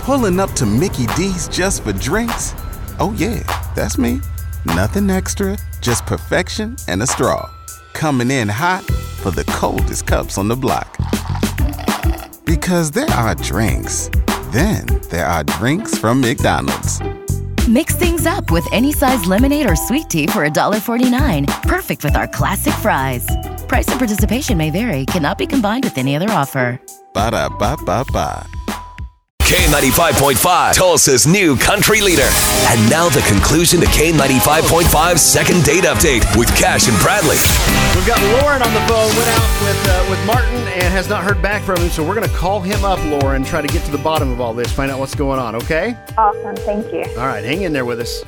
Pulling up to Mickey D's just for drinks? Oh yeah, that's me. Nothing extra, just perfection and a straw. Coming in hot for the coldest cups on the block. Because there are drinks. Then there are drinks from McDonald's. Mix things up with any size lemonade or sweet tea for $1.49. Perfect with our classic fries. Price and participation may vary. Cannot be combined with any other offer. Ba-da-ba-ba-ba. K95.5, Tulsa's new country leader. And now the conclusion to K95.5's second date update with Cash and Bradley. We've got Lauren on the phone, went out with Martin and has not heard back from him, so we're going to call him up, Lauren, try to get to the bottom of all this, find out what's going on, okay? Awesome, thank you. All right, hang in there with us.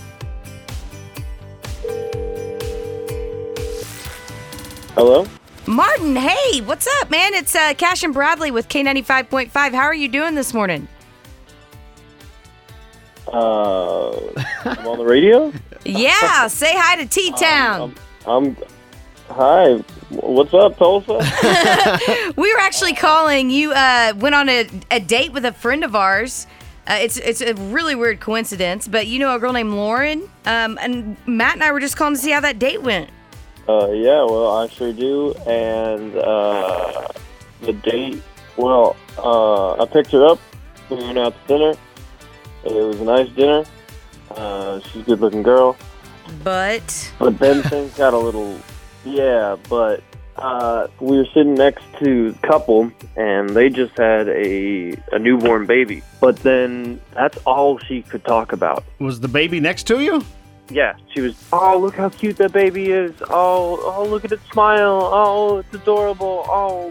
Hello? Martin, hey, what's up, man? It's Cash and Bradley with K95.5. How are you doing this morning? I'm on the radio? Yeah, say hi to T-Town. Hi. What's up, Tulsa? We were actually calling. You went on a date with a friend of ours. It's a really weird coincidence, but you know a girl named Lauren? And Matt and I were just calling to see how that date went. Yeah, well, I sure do. And the date, well, I picked her up. We went out to dinner. It was a nice dinner. She's a good-looking girl. But then things got a little, but we were sitting next to a couple, and they just had a newborn baby. But then that's all she could talk about. Was the baby next to you? Yeah, she was, oh, look how cute that baby is. Oh, look at it smile. Oh, it's adorable. Oh,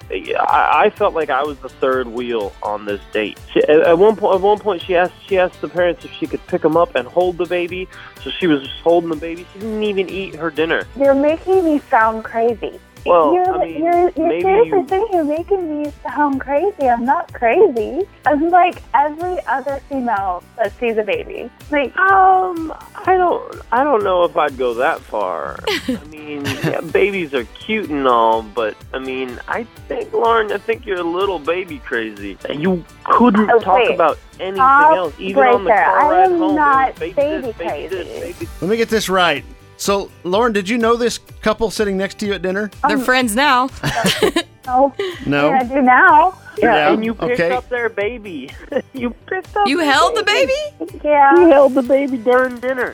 I felt like I was the third wheel on this date. At one point, she asked the parents if she could pick them up and hold the baby. So she was just holding the baby. She didn't even eat her dinner. You're making me sound crazy. Well, you're seriously saying you're making me sound crazy. I'm not crazy. I'm like every other female that sees a baby. Like, I don't know if I'd go that far. I mean, yeah, babies are cute and all, but I mean, Lauren, I think you're a little baby crazy. You couldn't talk about anything else, even on the car ride home. I am not baby crazy. Let me get this right. So, Lauren, did you know this couple sitting next to you at dinner? they're friends now. No. No? Yeah, I do now. Yeah, and you picked up their baby. You held the baby? Yeah. You held the baby during dinner.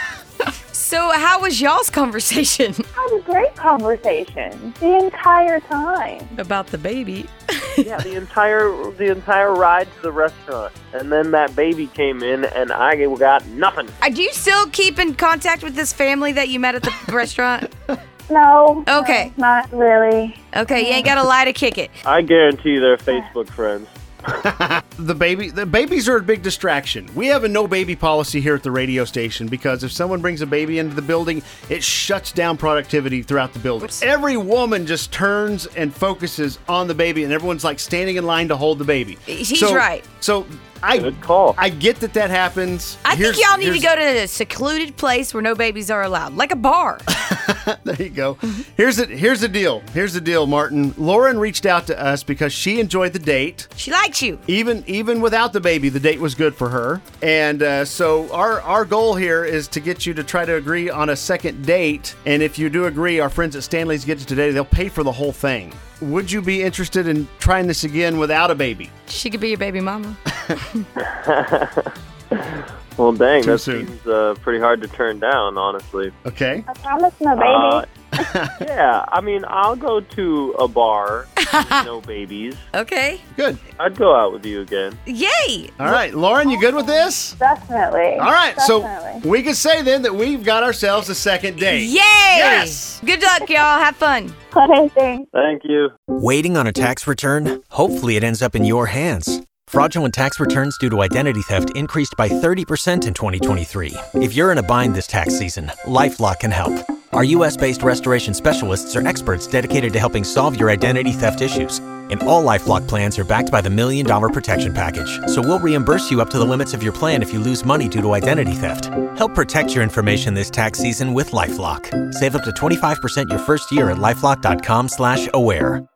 So how was y'all's conversation? It was a great conversation the entire time. About the baby? Yeah, the entire ride to the restaurant. And then that baby came in, and I got nothing. Do you still keep in contact with this family that you met at the restaurant? No. Okay. No, not really. Okay, you ain't got to lie to kick it. I guarantee they're Facebook friends. The babies are a big distraction. We have a no baby policy here at the radio station because if someone brings a baby into the building, it shuts down productivity throughout the building. Every woman just turns and focuses on the baby, and everyone's like standing in line to hold the baby. He's right. So Good call. I get that happens. I think y'all need to go to a secluded place where no babies are allowed, like a bar. There you go. Here's the deal, Martin. Lauren reached out to us because she enjoyed the date. She likes you. Even without the baby, the date was good for her. And so our goal here is to get you to try to agree on a second date. And if you do agree, our friends at Stanley's Get You Today, they'll pay for the whole thing. Would you be interested in trying this again without a baby? She could be your baby mama. Well, dang, Too that soon. seems pretty hard to turn down, honestly. Okay. I promise no baby. Yeah, I mean, I'll go to a bar with no babies. Okay. Good. I'd go out with you again. Yay. All right, Lauren, you good with this? Definitely. All right, Definitely. so we can say then that we've got ourselves a second date. Yay. Yes. Good luck, y'all. Have fun. Okay, thanks. Thank you. Waiting on a tax return? Hopefully it ends up in your hands. Fraudulent tax returns due to identity theft increased by 30% in 2023. If you're in a bind this tax season, LifeLock can help. Our U.S.-based restoration specialists are experts dedicated to helping solve your identity theft issues. And all LifeLock plans are backed by the $1 Million Protection Package. So we'll reimburse you up to the limits of your plan if you lose money due to identity theft. Help protect your information this tax season with LifeLock. Save up to 25% your first year at LifeLock.com/aware.